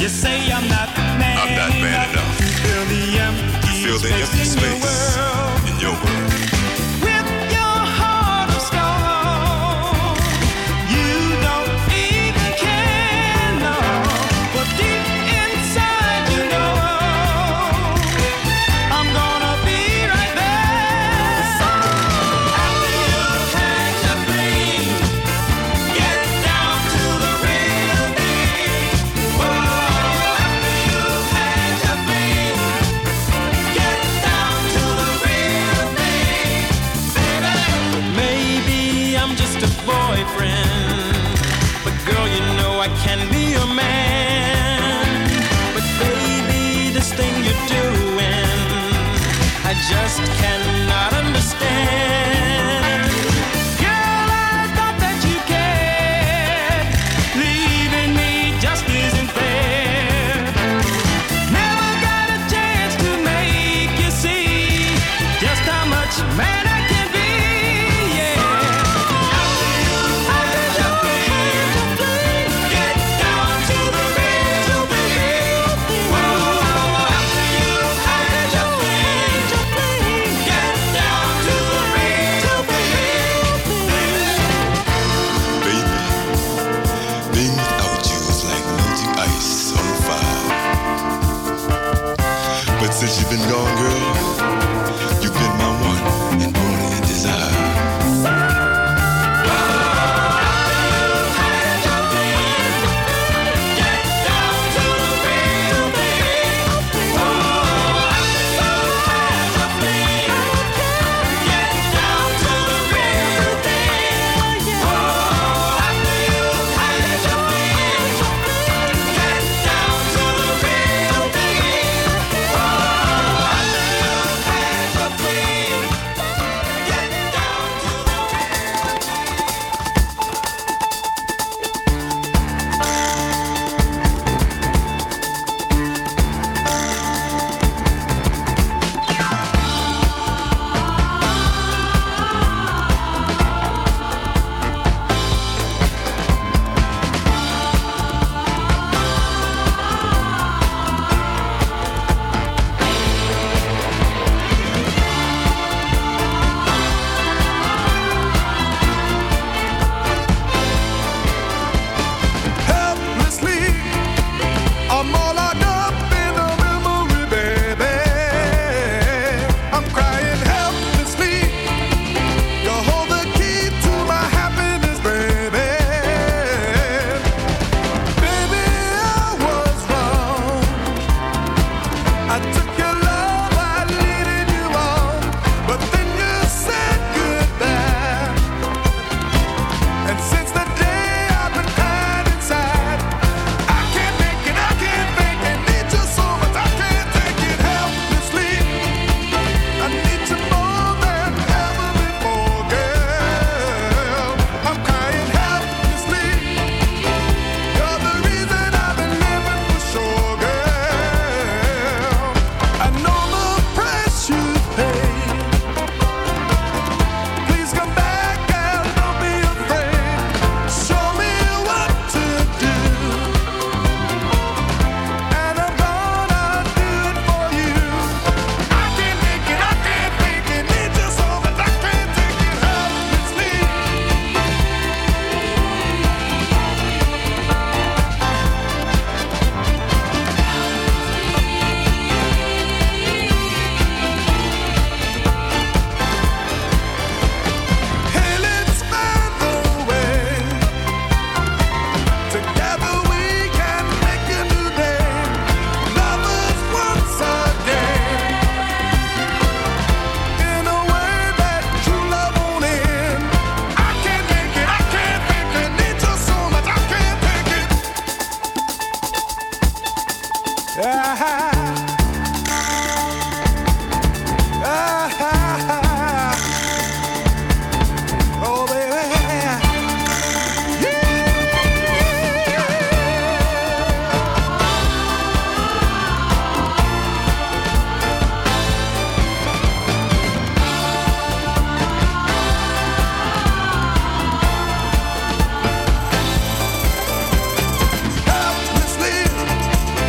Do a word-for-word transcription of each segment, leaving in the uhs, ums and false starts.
You say I'm not man, I'm not man enough. To fill the empty Fill the space, empty in, space your world. in your world. With your heart of stone, you don't even care, no. But deep inside you know I'm gonna be right there. So after you've had your dream, get down to the real thing. Whoa, after you've had your dream, get down to the real thing, baby. Maybe I'm just a boyfriend, but girl, you know I can be a man. But baby, this thing you're doing, I just cannot understand. Girl, I thought that you cared. Leaving me just isn't fair. Never got a chance to make you see just how much man I can be. Yeah. After you've had your dream, get down to the real thing. Whoa, after you've had your dream, get down to the real thing. Baby, being without you is like melting ice on fire. But since you've been gone, girl, you've been my one and only desire. Get down to the real thing. Whoa, after you've had your dream, get down to the real thing. Whoa, after you've had your dream, get down to the real thing. Whoa, after you've had your dream, get down to the Helplessly, I'm all locked up in a memory, baby. I'm crying helplessly. You hold the key to my happiness, baby. Baby, I was wrong. I took your love, I leaded you on, but then you said goodbye. And since the day I've been crying inside, I can't make it, I can't make it. Need you so much, I can't take it helplessly. I need you more than ever before, girl. I'm crying helplessly. You're the reason I've been living for sure, girl. I know the price you pay. Please come back, girl, don't be afraid. Show me what to do, and I'm gonna do it for you. I can't make it, I can't make it. Need you so much, I can't take it helplessly. Hey, let's find a way. Together we can make a new day. Lovers once again. In a way that true love won't end. I can't make it, I can't make it. Need you so much, I can't take it. Ah, ah, ah. Oh, baby. Helplessly,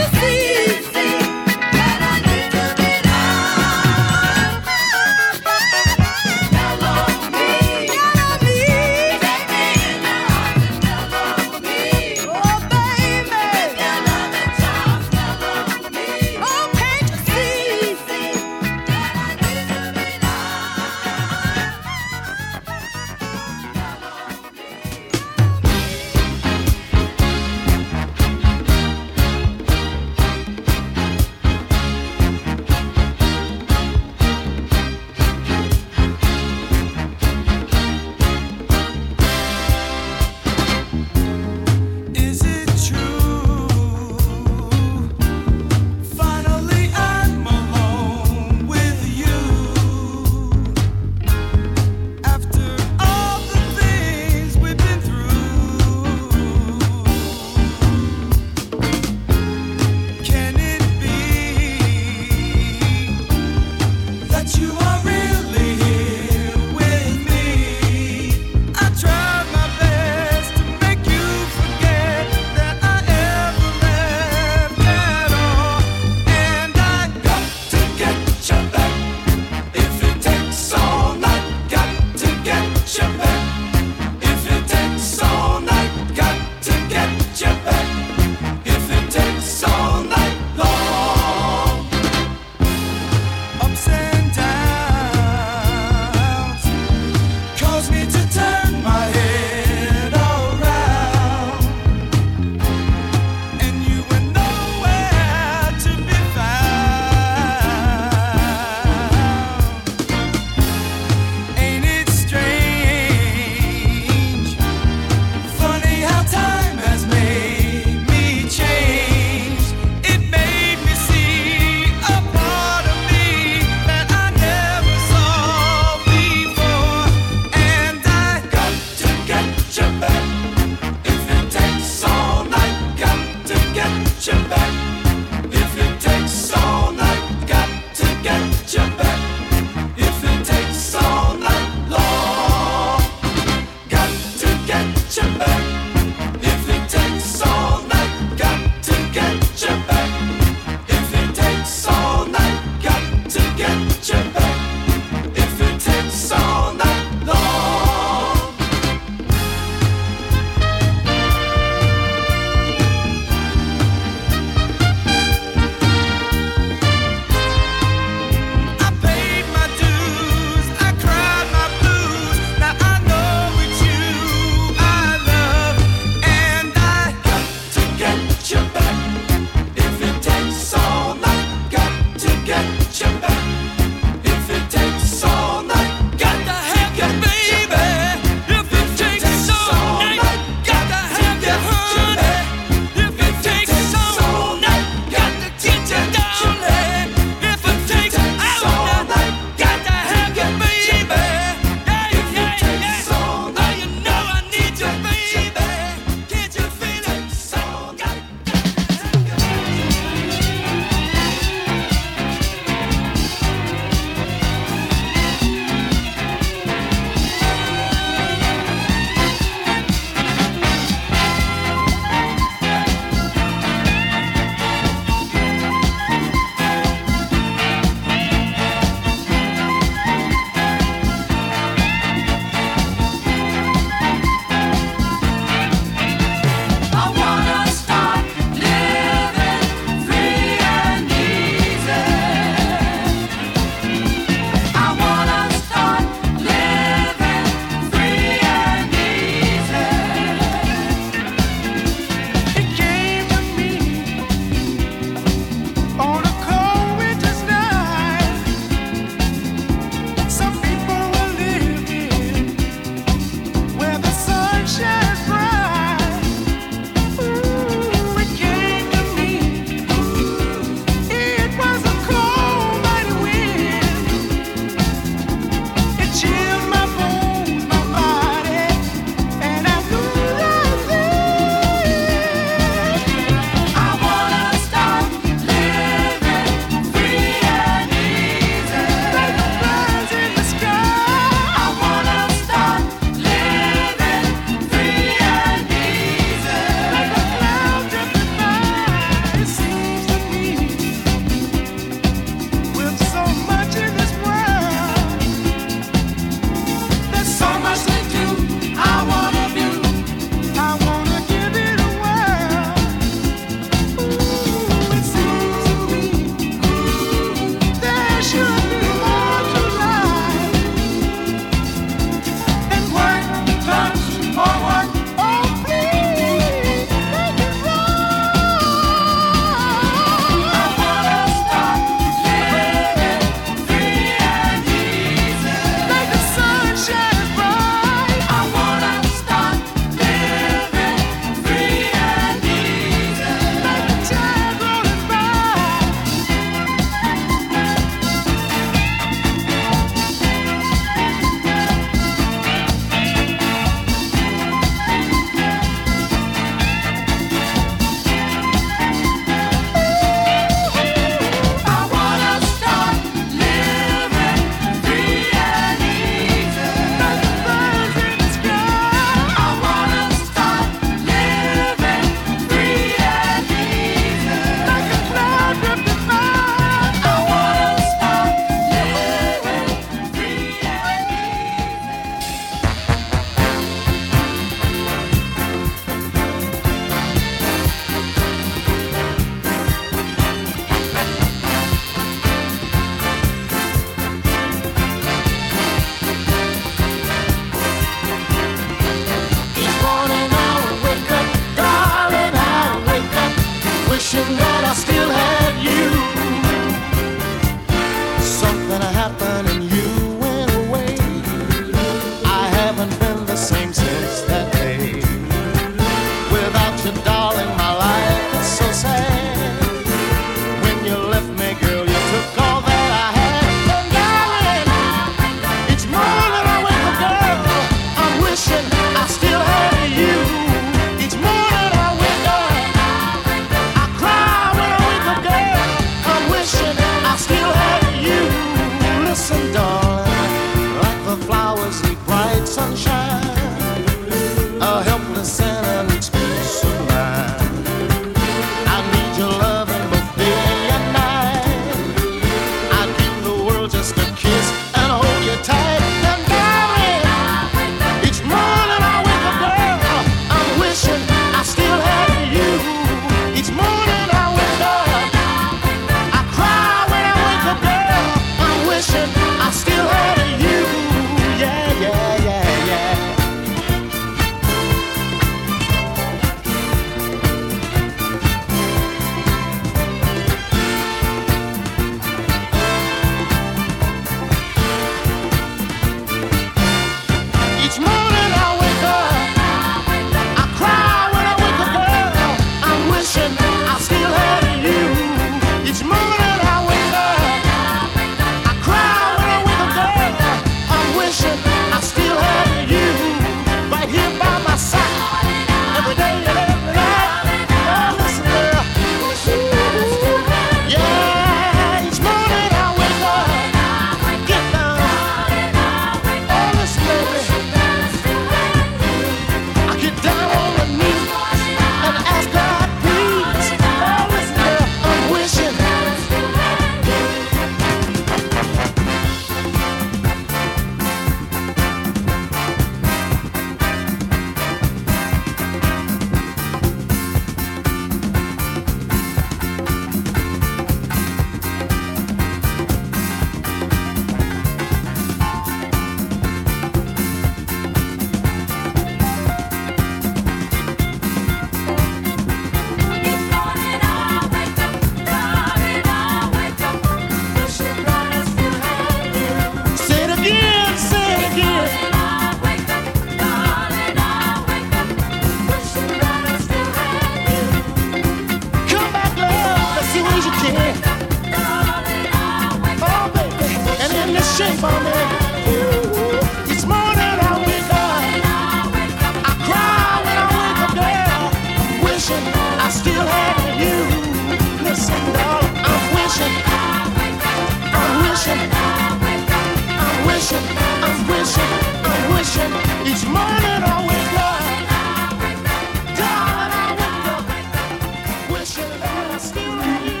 shape on me. Ooh, each morning I wake up, I cry when I wake up, girl, wishing I still had you. Listen, darling, I'm wishing, I'm wishing, I'm wishing, I'm wishing, I'm wishing. Each morning I wake up, darling, I wake up, wishing that I still had you.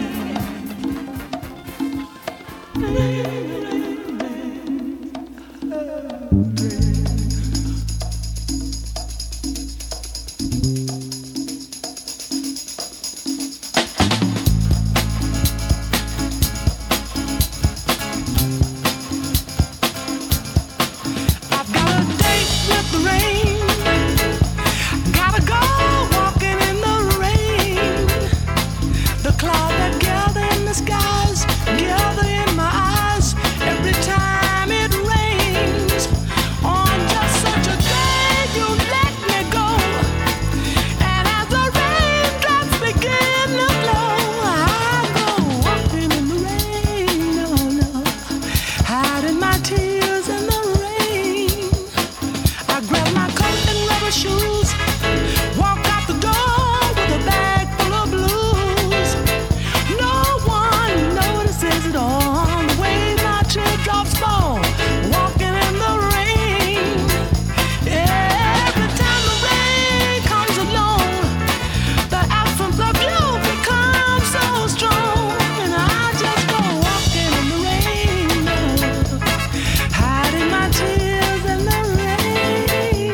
I've got a date with the rain. Gotta go walking in the rain. The clouds that gather in the skies gather in my eyes every time it rains. On just such a day, you let me go. And as the raindrops begin to flow, I go walking in the rain, oh no, hiding my tears in the rain. I grab my coat and rubber shoes, walk out the door with a bag full of blues. No one notices it on the way my teardrops fall, walking in the rain. Every time the rain comes along, the absence of you becomes so strong, and I just go walking in the rain, hiding my tears in the rain.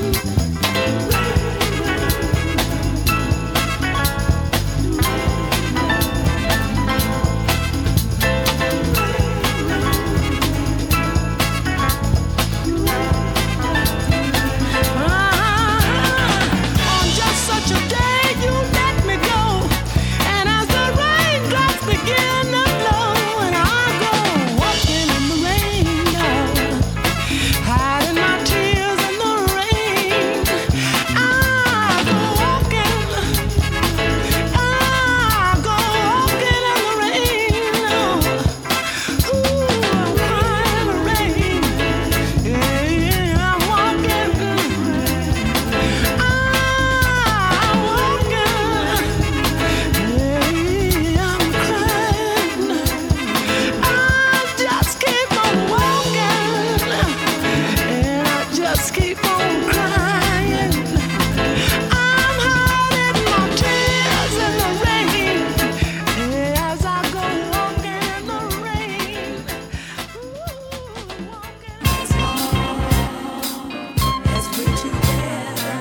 On just such a day, you let me go, and as the raindrops begin to flow, and I go walking in the rain, hiding my tears in the rain. I go walking, I go walking in the rain. Ooh, I'm crying in the rain. Yeah, I'm walking. I'm walking. Yeah, I'm crying. I just keep on walking, and I just keep on crying. I'm hiding my tears in the rain as I go walking in the rain. Ooh, walking. As long as we're together,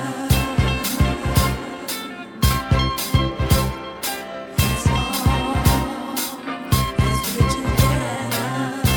as long as we're together,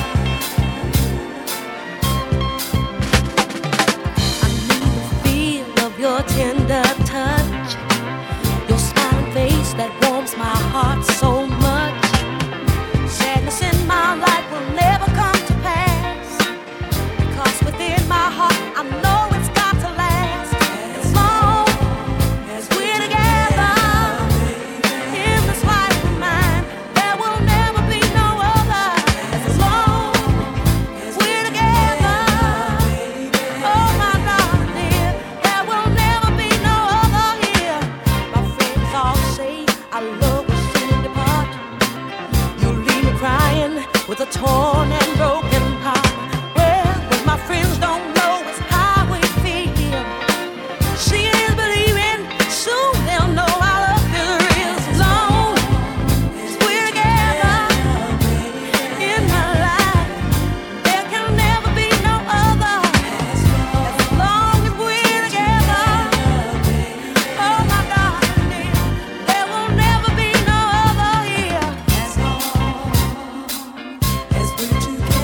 I need the feel of your tender touch, your smiling face that warms my heart so much. Sadness in my life will never come to pass, because within my heart I know it's got to last. As long as we're together in this life of mine, there will never be no other. As long as we're together, oh my darling dear, there will never be no other here. My friends all say our love will soon depart. You leave me crying with a torn and broken heart. Well, what my friends don't know is how we feel. See is believing, soon they'll know our love is real. As long as we're together in my life, there can never be no other. As long as we're together, oh my darling dear, there will never be no other here. As long as we're together.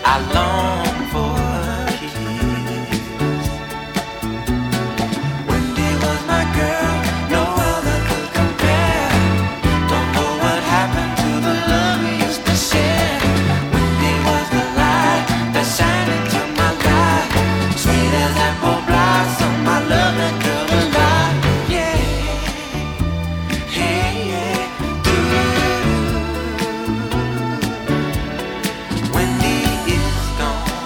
I long for her kiss. Wendy was my girl, no other could compare. Don't know what happened to the love we used to share. Wendy was the light that shined into my life, sweet as apple blossom, my love that girl alive. Yeah, hey, yeah, doo. Wendy is gone.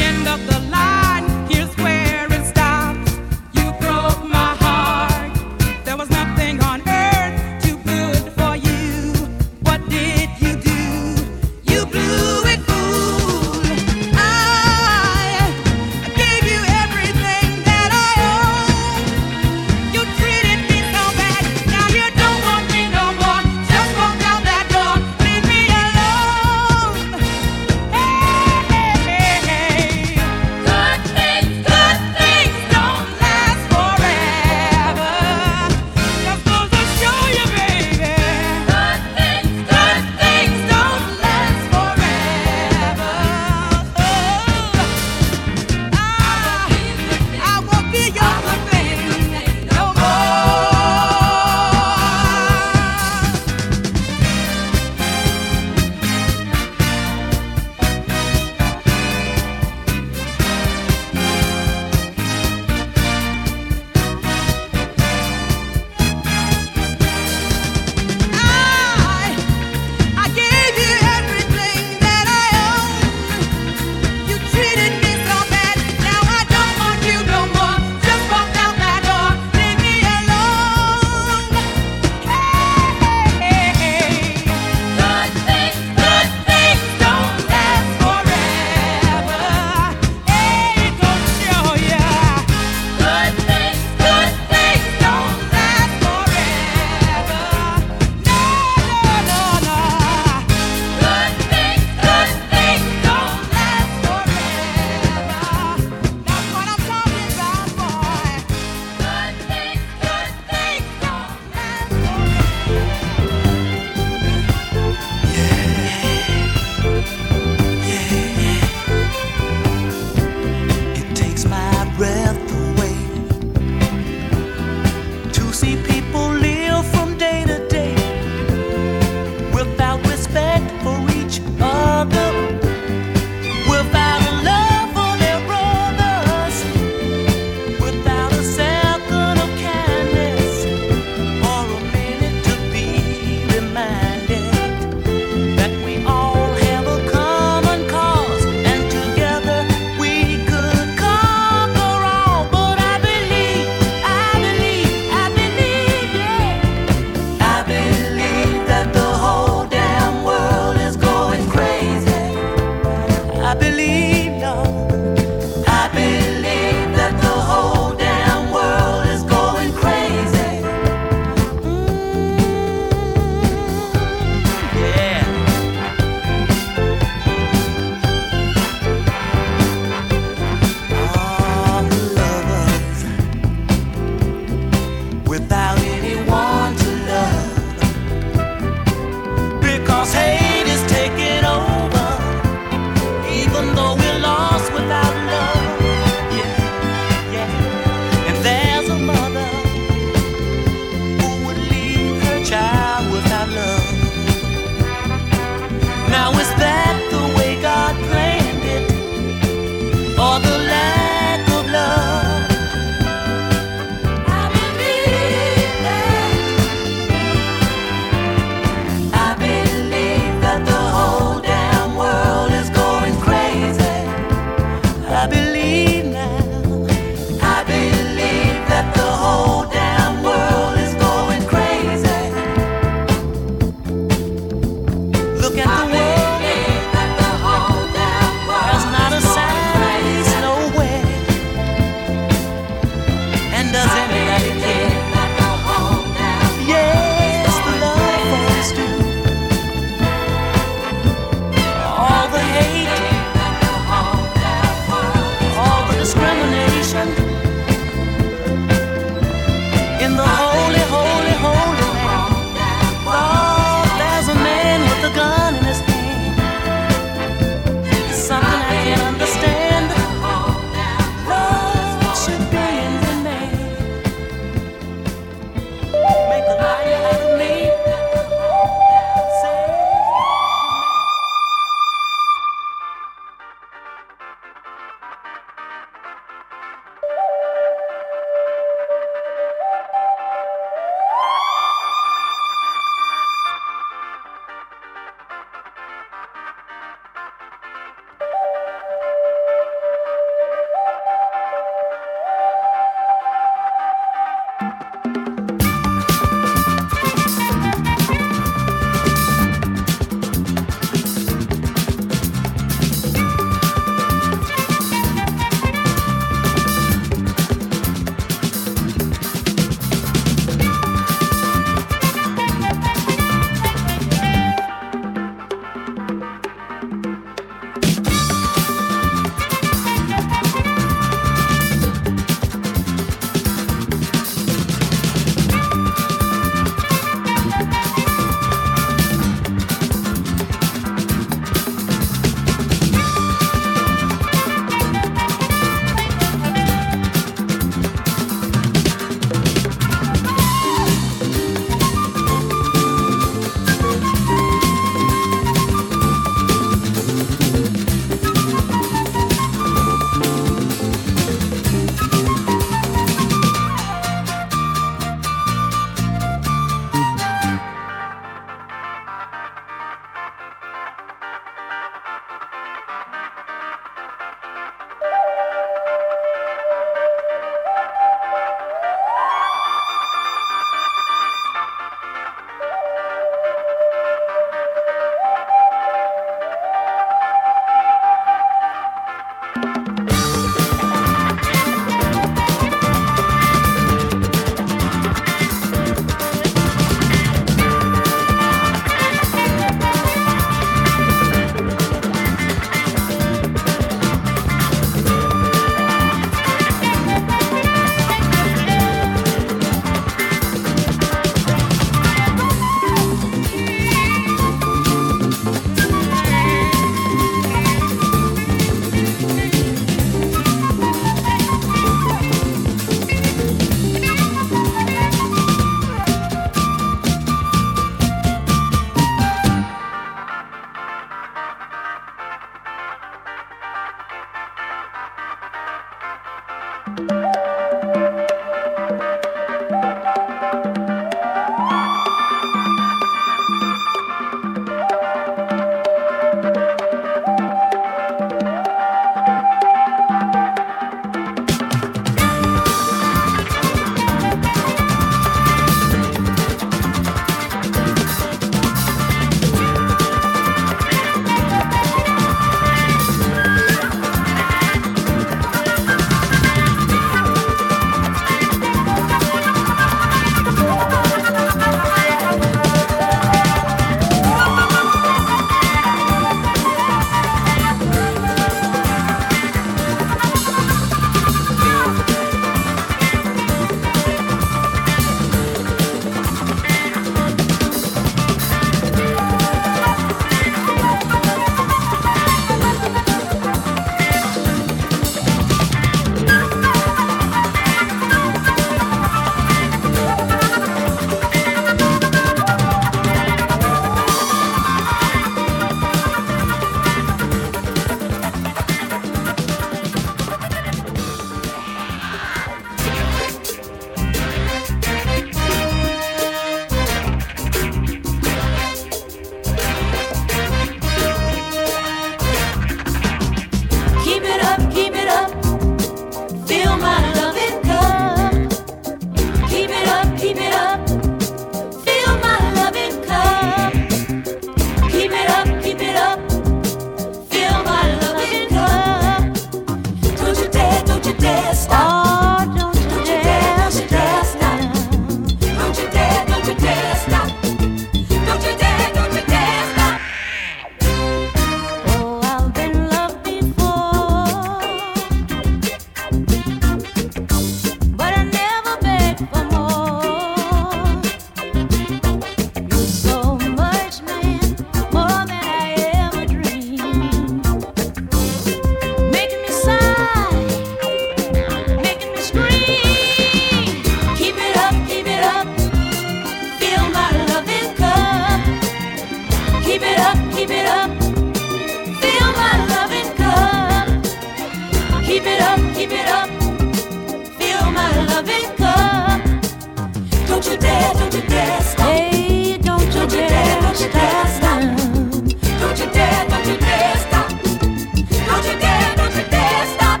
dare, don't you dare stop. Hey, don't you Don't you dare, dare, don't you dare stop. Don't you dare, don't you dare stop. Don't you dare, don't you dare stop.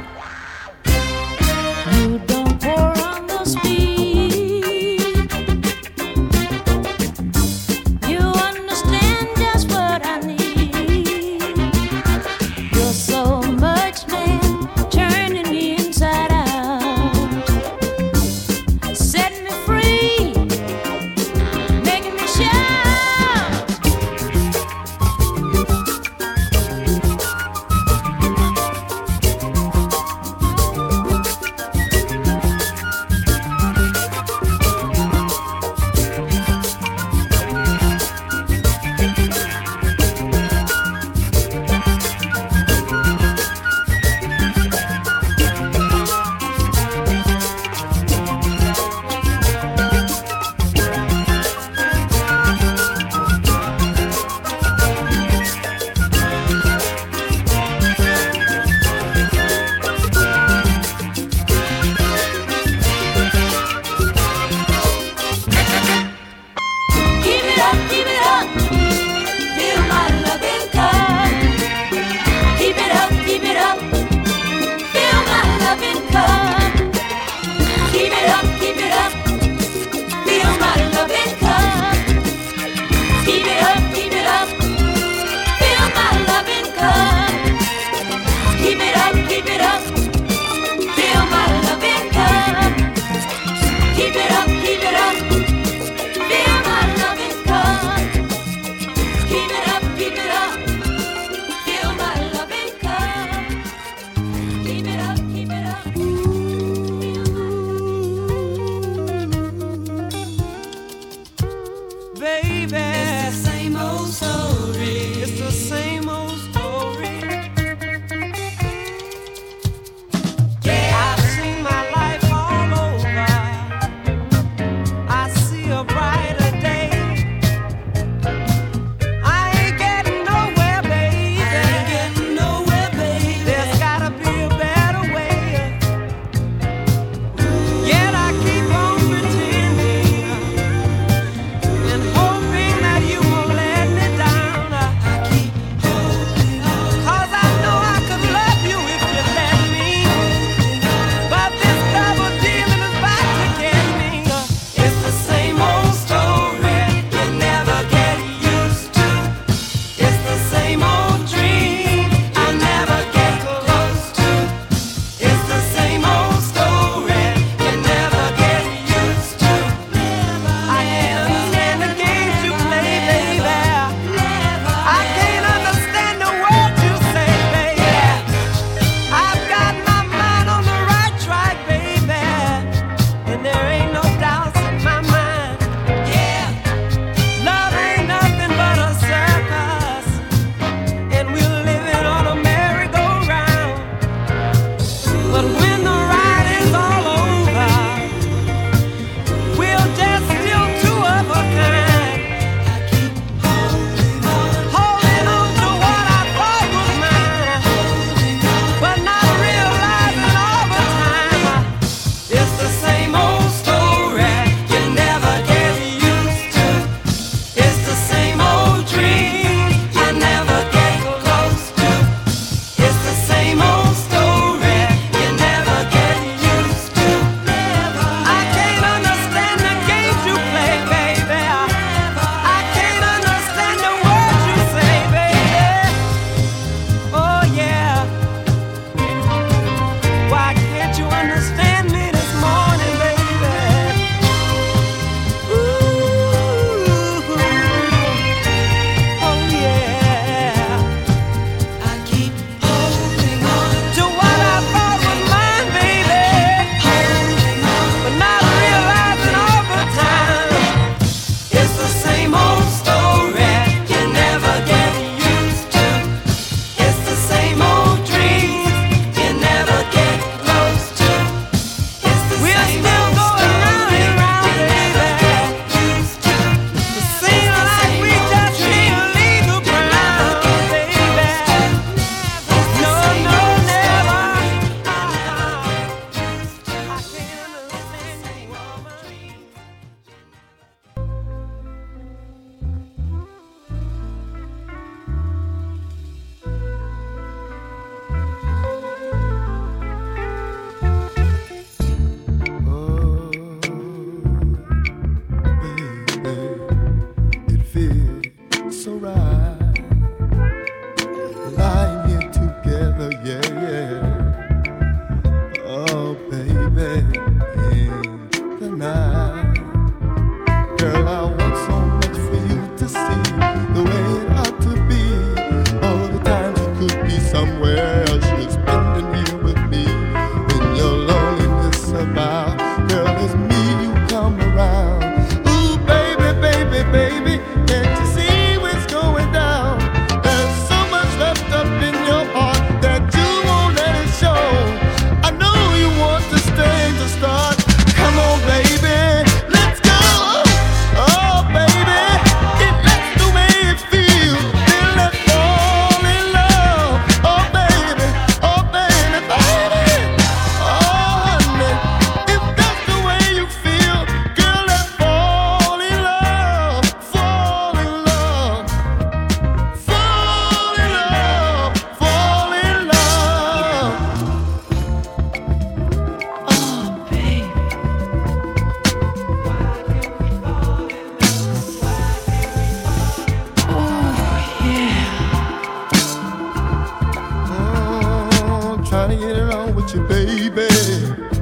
You don't pour on the speed. You understand just what I need. You're so much man, turning me inside out. Set me free, making me shout. trying to get it on with you, baby.